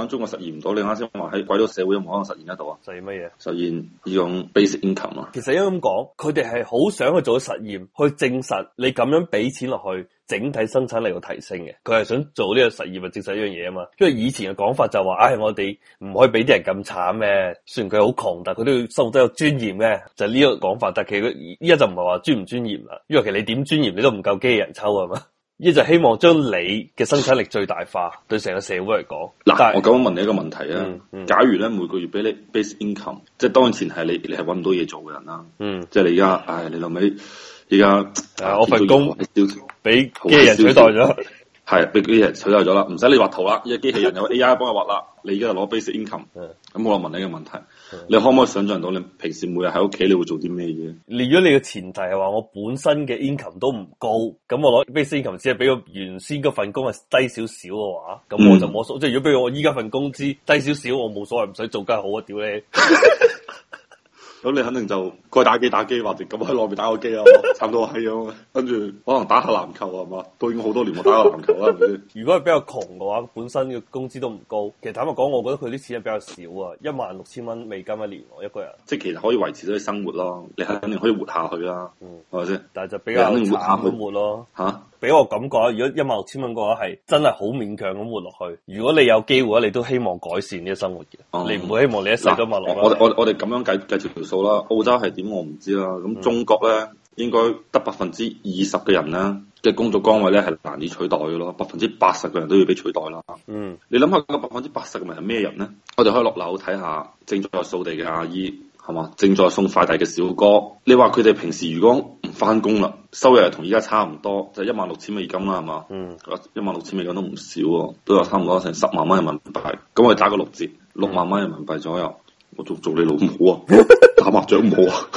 講緊中國實現唔到，你啱先話喺鬼佬社會有冇可能實現得到啊？ 實現乜嘢？ 實現呢種 basic income 啊？ 其實應該咁講，佢哋係好想去做實驗，去證實你咁樣俾錢落去，整體生產力會提升嘅。佢係想做呢個實驗去證實呢樣嘢啊嘛。因為以前嘅講法就話，我哋唔可以俾啲人咁慘咩？雖然佢好窮，但係佢都要生活得有尊嚴嘅，就係呢個講法。但係其實依家就唔係話尊唔尊嚴啦，因為其實你點尊嚴你都唔夠機器人抽啊嘛。呢就希望將你嘅生產力最大化，對成個社會嚟講。 嗱，我咁樣問你一個問題啊，假如咧每個月俾你 base income，即係當然前提你係搵唔到嘢做嘅人啦，即係你而家，你諗起而家我份工俾機器人取代咗。 係俾機器人取代咗啦，唔使你畫圖啦，依家機器人有 AI 幫你畫啦，你而家就攞 basic income。咁我問你一個問題，你可唔可以想象到你平時每日喺屋企你會做啲咩嘢？ 如果你嘅前提係話我本身嘅 income 都唔高，咁我攞 basic income 只係比我原先嗰份工係低少少嘅話，咁我就冇所謂。即係如果比如我依家份工資低少少，我冇所謂，唔使做梗係好啊！屌你！ 咁你肯定就該打機打機，或者咁喺內面打個機啊，差唔多係咁。跟住可能打下籃球係嘛，都已經好多年冇打過籃球啦，係咪先？ 如果係比較窮嘅話，本身嘅工資都唔高。其實坦白講，我覺得佢啲錢係比較少啊，16,000蚊美金一年一個人。即係其實可以維持到你生活咯，你肯定可以活下去啦，係咪先？ 但係就比較慘咁活咯。嚇！俾我感覺，如果16,000蚊嘅話，係真係好勉強咁活落去。如果你有機會，你都希望改善呢個生活嘅。你唔會希望你一世都活落去。 我哋咁樣計條數啦。澳洲係點我唔知啦。咁中國咧應該得20%嘅人咧嘅工作崗位咧係難以取代嘅咯。80%嘅人都要被取代啦。你諗下個80%嘅人係咩人咧？我哋可以落樓睇下正在掃地嘅阿姨。係嘛？正在送快遞嘅小哥，你話佢哋平時如果唔翻工啦，收入係同而家差唔多，就16,000美金啦，係嘛？16,000美金都唔少喎，都有差唔多成10萬蚊人民幣。咁我哋打個6折，6萬蚊人民幣左右。我做你老母啊！打麻雀唔好啊？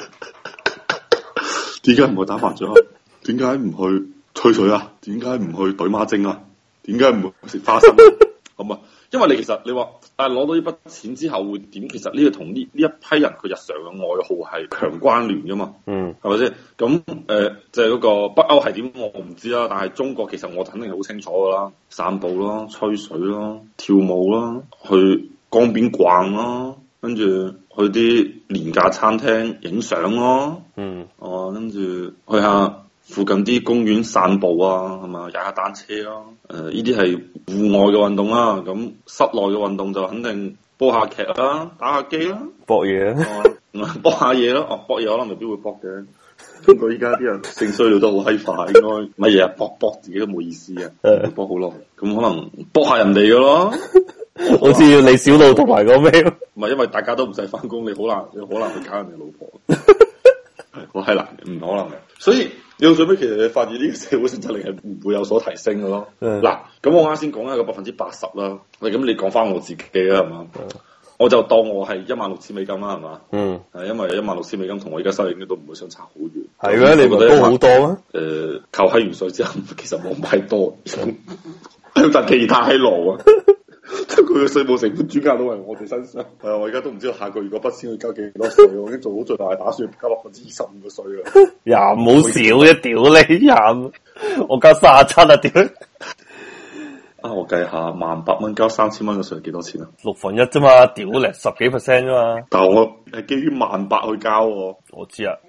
點解唔去打麻雀啊？點解唔去吹水啊？點解唔去懟孖精啊？點解唔去食花生啊？咁啊？因為你其實你話攞到呢筆錢之後會點？其實呢個同呢一批人佢日常嘅愛好係強關聯噶嘛，係咪先？咁即係嗰個北歐係點我唔知啦，但係中國其實我肯定係好清楚噶啦，散步咯、吹水咯、跳舞咯、去江邊逛咯，跟住去啲廉價餐廳影相咯，跟住去下附近啲公園散步啊，係嘛，踩下單車咯。呢啲係戶外嘅運動啦。咁室內嘅運動就肯定播下劇啦，打下機啦， 搏嘢搏下嘢咯。搏嘢可能未必會搏嘅。不過依家啲人性需要都好閪快，應該乜嘢啊？搏自己都冇意思啊，搏好耐。咁可能搏下人哋嘅咯， 好似要李小璐同埋個咩？ 唔係，因為大家都唔使翻工，你好難去搞人哋老婆。好閪難，唔可能嘅。所以你到最尾，其實你發現呢個社會生產力係唔會有所提升嘅咯。嗱，咁我啱先講一個80%啦。咁你講翻我自己啦，係嘛？我就當我係16,000美金啦，係嘛？因為16,000美金同我而家收入應該都唔會相差好遠。 係咩？你覺得高好多咩？ 扣閪完稅之後，其實冇咁閪多，但其他閪羅啊！佢嘅稅務成本轉嫁到嚟我哋身上。我而家都唔知道下個月嗰筆錢要交幾多稅。我已經做好最大嘅打算，交25%嘅稅啦。 唔好少啫，屌你我交37啊，屌！ 我計下，18,000蚊交3,000蚊嘅稅係幾多錢啊 1/6啫嘛，屌你10幾%啫嘛。 但係我係基於18,000去交喎。我知啊。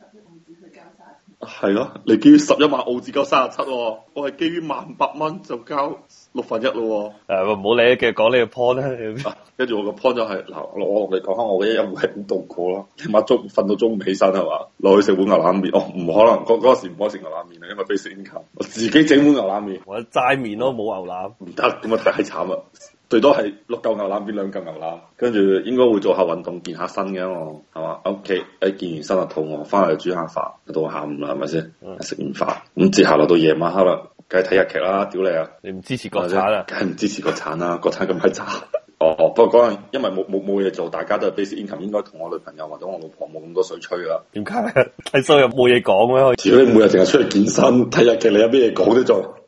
係咯，你基於11萬澳紙交37，我係基於18,000蚊就交1/6咯。 唔好理，繼續講呢個 point 啦。 跟住我個 point 就係我同你講下我嘅一日會係點度過咯。起碼瞓到中午起身係嘛，落去食碗牛腩麵。唔可能嗰時唔可以食牛腩麵啊，因為 basic income。我自己整碗牛腩麵， 或者齋麵咯，冇牛腩。 唔得，咁啊太慘啦。最多係6嚿牛腩變2嚿牛腩，跟住應該會做下運動健下身嘅我，係嘛？喺屋企健完身就肚餓，翻嚟煮下飯，到下午啦，係咪先？食完飯咁接下來到夜晚黑啦，梗係睇日劇啦，屌你啊！ 你唔支持國產啊？ 梗係唔支持國產啦，國產咁閪渣。不過嗰陣因為冇嘢做，大家都係 basic income，應該同我女朋友或者我老婆冇咁多水吹啦。點解？睇收入冇嘢講咩？如果你每日淨係出去健身睇日劇，你有咩嘢講啫？做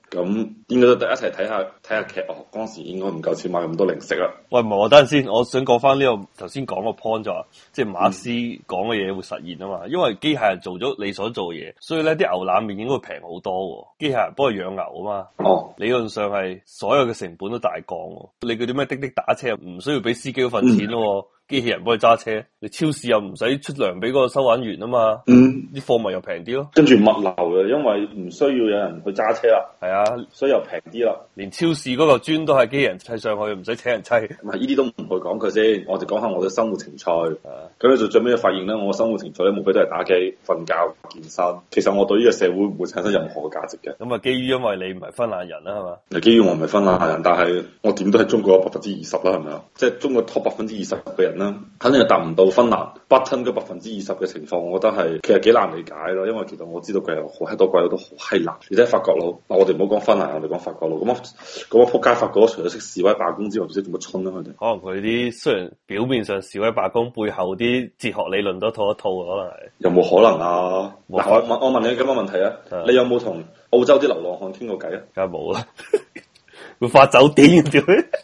咁應該都一齊睇下劇。哦，嗰時應該唔夠錢買咁多零食啦。 喂，唔係，我等陣先，我想講翻呢個頭先講個 point 就話，即係馬克思講嘅嘢會實現啊嘛。因為機械人做咗你所做嘅嘢，所以咧啲牛腩麵應該平好多。機械人幫佢養牛啊嘛。 哦， 理論上係所有嘅成本都大降。你嗰啲咩滴滴打車唔需要俾司機嗰份錢咯。機器人幫佢揸車，你超市又唔使出糧俾嗰個收銀員啊嘛，啲貨物又平啲咯。 跟住物流嘅，因為唔需要有人去揸車啦， 係啊， 所以又平啲啦。連超市嗰個磚都係機器人砌上去，唔使請人砌。 唔係呢啲都唔去講佢先，我哋講下我嘅生活情趣。咁你就最尾發現咧，我嘅生活情趣咧，無非都係打機、瞓覺、健身。其實我對呢個社會唔會產生任何嘅價值嘅。 咁啊，基於因為你唔係芬蘭人啦，係嘛？ 基於我唔係芬蘭人，但係我點都係中國20%啦，係咪啊？即係中國 top 20%嘅人啦，肯定係達唔到芬蘭 bottom 嗰20%嘅情況。我覺得係其實幾難理解咯，因為其實我知道佢有好閪多鬼佬都好閪難。而且法國佬，我哋唔好講芬蘭，我哋講法國佬。咁啊仆街法國佬除咗識示威罷工之外，唔知做乜春啦佢哋。可能佢啲雖然表面上示威罷工，背後啲哲學理論都套一套，可能係。 有冇可能啊？我問你咁嘅問題啊，你有冇同澳洲啲流浪漢傾過偈啊？ 梗係冇啦，會發酒癲嘅。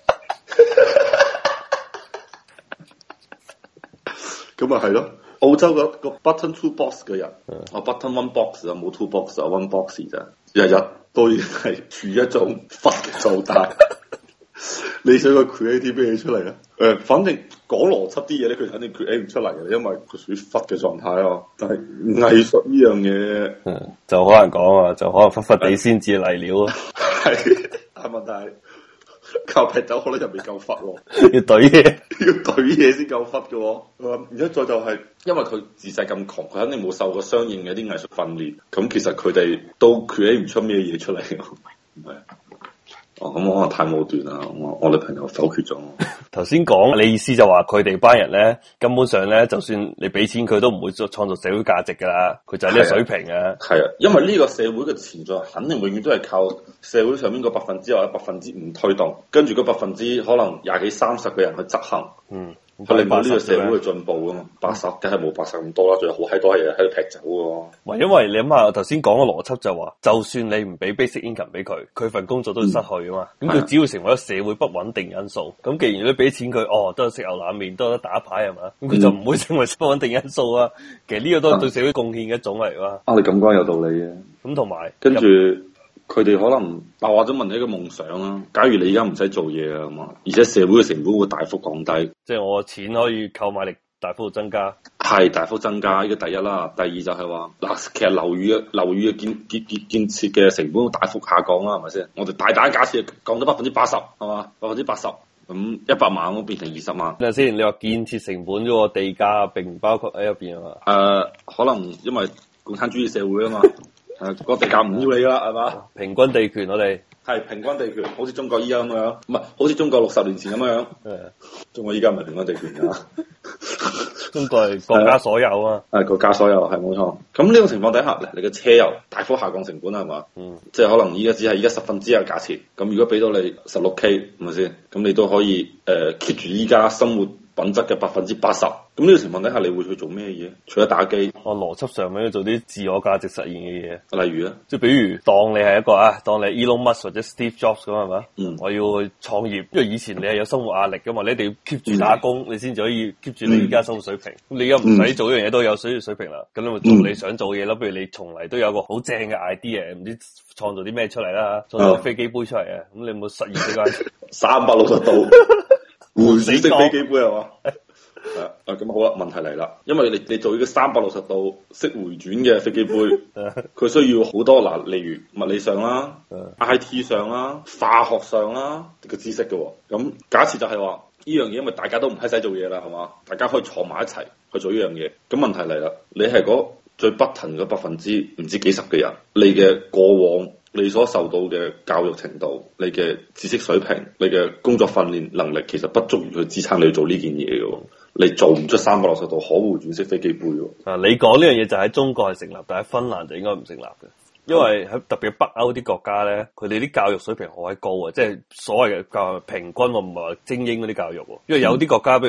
咁啊係咯，澳洲個 button two box 嘅人，button one box 啊，冇 two box 啊 one box 咋，日日都已經係處於一種忽嘅狀態。你想佢 create 啲咩出嚟啊？反正講邏輯啲嘢咧，佢肯定 create 唔出嚟嘅，因為佢屬於忽嘅狀態啊。但係藝術呢樣嘢， 就好難講啊，就可能忽忽地先至嚟料啊。 係，但係問題靠劈酒可能又未夠忽喎， 要懟嘢， 要懟嘢先夠忽嘅喎。而家再就係，因為佢自細咁窮，佢肯定冇受過相應嘅一啲藝術訓練，咁其實佢哋都 create 唔出咩嘢出嚟。唔係。咁我可能太武斷啦，我女朋友否決咗我。 頭先講你意思就話佢哋班人咧，根本上咧，就算你俾錢佢都唔會創造社會價值噶啦，佢就係呢個水平嘅。係啊， 因為呢個社會嘅存在肯定永遠都係靠社會上面個5%或者5%推動，跟住嗰%可能20幾30嘅人去執行。佢令到呢個社會嘅進步啊嘛，80梗係冇80咁多啦，仲有好閪多嘢喺度劈酒嘅。 因為你諗下頭先講嘅邏輯就話，就算你唔俾 basic income 俾佢，佢份工作都會失去啊嘛。咁佢只要成為咗社會不穩定因素。咁既然你俾錢佢，都係食牛腩麵，都得打牌係嘛，咁佢就唔會成為不穩定因素啊。其實呢個都係對社會貢獻嘅一種嚟㗎。 你咁講有道理嘅。咁同埋跟住。佢哋可能，或者問你一個夢想啊。假如你而家唔使做嘢啊嘛，而且社會嘅成本會大幅降低， 即係我錢可以購買力大幅增加， 係大幅增加。呢個第一啦，第二就係話嗱，其實樓宇嘅建設嘅成本會大幅下降啦，係咪先？我哋大膽假設降咗80%係嘛，80%，咁100萬咁變成20萬。 嗱先，你話建設成本嗰個地價並唔包括喺入邊啊嘛？ 可能因為共產主義社會啊嘛。個地價唔要你啦，係嘛？ 平均地權我哋係平均地權，好似中國依家咁樣，唔係好似中國60年前咁樣。中國依家唔係平均地權㗎， 中國係國家所有啊。 國家所有係冇錯。咁呢種情況底下，你嘅車油大幅下降成本係嘛？即係可能依家只係10%嘅價錢。咁如果俾到你16K，係咪先？咁你都可以keep 住依家生活品質嘅80%。咁呢個情況底下，你會去做咩嘢？除咗打機， 邏輯上面要做啲自我價值實現嘅嘢。 例如咧， 即係比如當你係一個當你 Elon Musk 或者 Steve Jobs 咁係嘛？我要去創業，因為以前你係有生活壓力噶嘛，你一定要 keep 住打工，你先至可以 keep 住你而家生活水平。咁你而家唔使做一樣嘢都有水平啦，咁你咪做你想做嘢咯。不如你從嚟都有個好正嘅 idea，唔知創造啲咩出嚟啦，創造飛機杯出嚟啊！咁你有冇實現呢個 360度換死式飛機杯係嘛？咁好啦，問題嚟啦，因為你做呢個360度式回轉嘅飛機杯，佢需要好多例如物理上啦、IT 上啦、化學上啦嘅知識嘅。咁假設就係話呢樣嘢，因為大家都唔使做嘢啦，係嘛？大家可以坐埋一齊去做呢樣嘢。咁問題嚟啦，你係嗰最不騰嘅%唔知幾十嘅人，你嘅過往你所受到嘅教育程度、你嘅知識水平、你嘅工作訓練能力，其實不足以去支撐你去做呢件嘢嘅。你做唔出360度可回轉式飛機杯喎。 你講呢樣嘢就喺中國係成立，但喺芬蘭就應該唔成立嘅。因為喺特別北歐啲國家咧，佢哋啲教育水平好閪高啊，即係所謂嘅教育平均，我唔係話精英嗰啲教育。因為有啲國家，譬如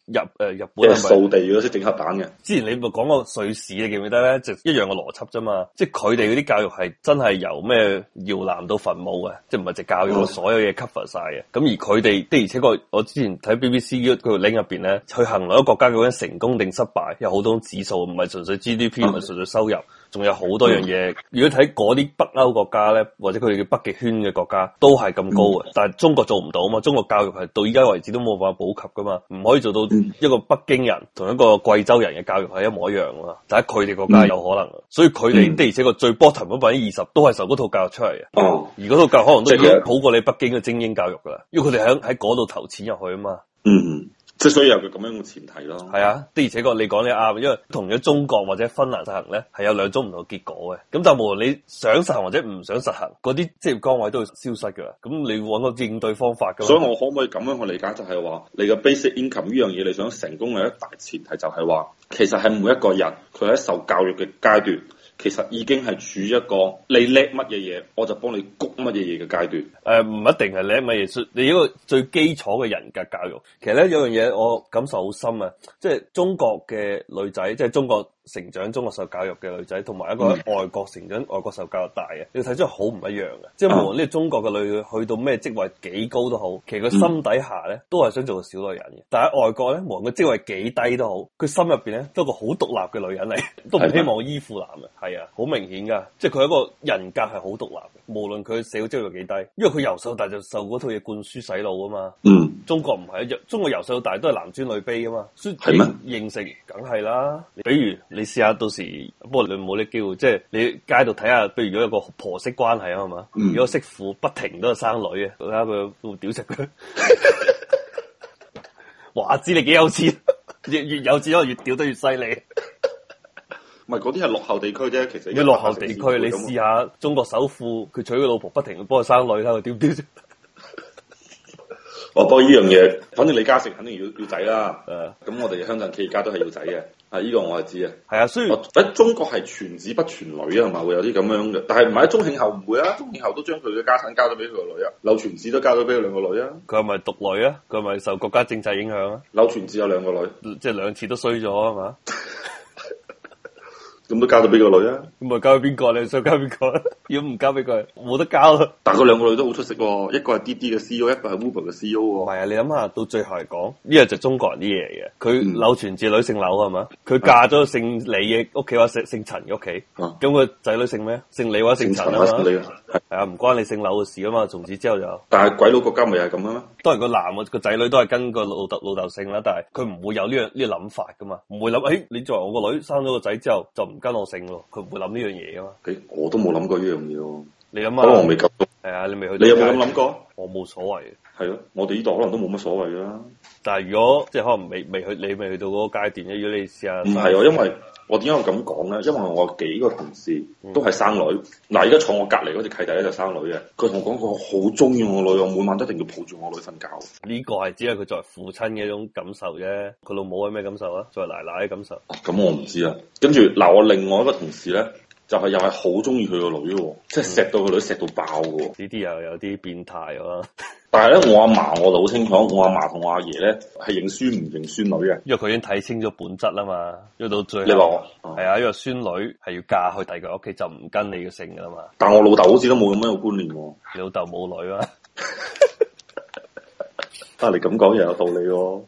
日本係咪掃地嗰啲整核彈嘅？ 之前你咪講過瑞士，你記唔記得咧？就一樣嘅邏輯啫嘛，即係佢哋嗰啲教育係真係由咩搖籃到墳墓嘅，即係唔係淨教育所有嘢 cover 晒嘅。咁而佢哋的而且確，我之前睇 BBC 嗰個 link 入邊咧，去衡量一個國家究竟成功定失敗，有好多指數，唔係純粹 GDP，唔係純粹收入。仲有好多樣嘢，如果睇嗰啲北歐國家咧，或者佢哋叫北極圈嘅國家，都係咁高嘅。但係中國做唔到啊嘛，中國教育係到依家為止都冇辦法普及噶嘛，唔可以做到一個北京人同一個貴州人嘅教育係一模一樣啊嘛。但係佢哋國家有可能，所以佢哋的而且確最 bottom 嗰20%都係受嗰套教育出嚟嘅。而嗰套教育可能都已經好過你北京嘅精英教育噶啦，因為佢哋喺嗰度投錢入去啊嘛。 即係所以有個咁樣嘅前提咯。 係啊，的而且確你講得啱，因為同咗中國或者芬蘭實行咧，係有兩種唔同嘅結果嘅。咁但係無論你想實行或者唔想實行，嗰啲職業崗位都會消失噶啦。咁你揾個應對方法噶。所以我可唔可以咁樣去理解，就係話你嘅 basic income 呢樣嘢，你想成功嘅一大前提就係話，其實係每一個人佢喺受教育嘅階段，其實已經係處於一個你叻乜嘢嘢，我就幫你谷乜嘢嘢嘅階段。唔一定係叻乜嘢，你一個最基礎嘅人格教育。其實咧有樣嘢我感受好深啊，即係中國嘅女仔，即係中國成長、中國受教育嘅女仔，同埋一個喺外國成長、外國受教育大嘅，你睇出嚟好唔一樣嘅。即係無論呢個中國嘅女去到咩職位幾高都好，其實佢心底下咧都係想做個小女人嘅。但係喺外國咧，無論佢職位幾低都好，佢心入邊咧都係個好獨立嘅女人嚟，都唔希望依附男嘅。係啊，好明顯噶，即係佢一個人格係好獨立嘅，無論佢社會職位幾低，因為佢由細到大就受嗰套嘢灌輸洗腦啊嘛。中國唔係，中國由細到大都係男尊女卑啊嘛，所以認識梗係啦。比如你試下到時，不過你冇呢機會，即係你街度睇下，譬如如果有個婆媳關係啊嘛，如果媳婦不停都係生女嘅，睇下佢會屌食佢。話知你幾有錢，越有錢可能越屌得越犀利。 唔係嗰啲係落後地區啫，其實啲落後地區，你試下中國首富，佢娶個老婆不停幫佢生女，睇佢屌唔屌？ 不過呢樣嘢，反正李嘉誠肯定要仔啦。咁我哋香港企業家都係要仔嘅。呢個我係知啊。係啊，所以喺中國係傳子不傳女啊，係咪會有啲咁樣嘅？但係唔係喺宗慶後唔會啊，宗慶後都將佢嘅家產交咗俾佢個女啊，柳傳志都交咗俾佢兩個女啊。佢係咪獨女啊？佢係咪受國家政策影響啊？柳傳志有兩個女，即係兩次都衰咗啊嘛。咁都交咗俾個女啊？咁咪交俾邊個？你想交邊個？如果唔交俾佢，冇得交啦。但係佢兩個女都好出色喎，一個係滴滴嘅 CEO，一個係 Uber 嘅 CEO。唔係啊，你諗下，到最後嚟講，呢個就中國人啲嘢嚟嘅。佢柳傳志女姓柳係嘛？佢嫁咗姓李嘅屋企，或者姓陳嘅屋企。咁佢仔女姓咩？姓李或者姓陳啊嘛？係啊，唔關你姓柳嘅事啊嘛。從此之後就，但係鬼佬國家咪係咁啊？當然個男個仔女都係跟個老豆姓啦，但係佢唔會有呢個諗法噶嘛，唔會諗你作為我個女生咗個仔之後就唔跟我姓咯，佢唔會諗呢樣嘢噶嘛。我都冇諗過呢樣嘢喎。你諗下，可能我未夠。係啊，你未去。你有冇咁諗過？我冇所謂。係咯，我哋呢度可能都冇乜所謂啦。但係如果即係可能未去，你未去到嗰個階段咧，如果你試下。唔係因為我點解咁講咧？因為我幾個同事都係生女。嗱，而家坐我隔離嗰隻契弟咧就生女嘅，佢同我講佢好中意我女，我每晚都一定要抱住我女瞓覺。呢個係只係佢作為父親嘅一種感受啫。佢老母係咩感受啊？作為奶奶嘅感受。咁我唔知啊。跟住嗱，我另外一個同事咧。就係又係好中意佢個女喎，即係錫到個女錫到爆嘅喎。呢啲又有啲變態啊！但係咧，我阿嫲我就好清楚，我阿嫲同我阿爺咧係認孫唔認孫女嘅，因為佢已經睇清咗本質啦嘛。因為到最後，你話我係啊，因為孫女係要嫁去第二個屋企，就唔跟你嘅姓噶啦嘛。但係我老豆好似都冇咁樣嘅觀念喎。你老豆冇女啊？你咁講又有道理喎。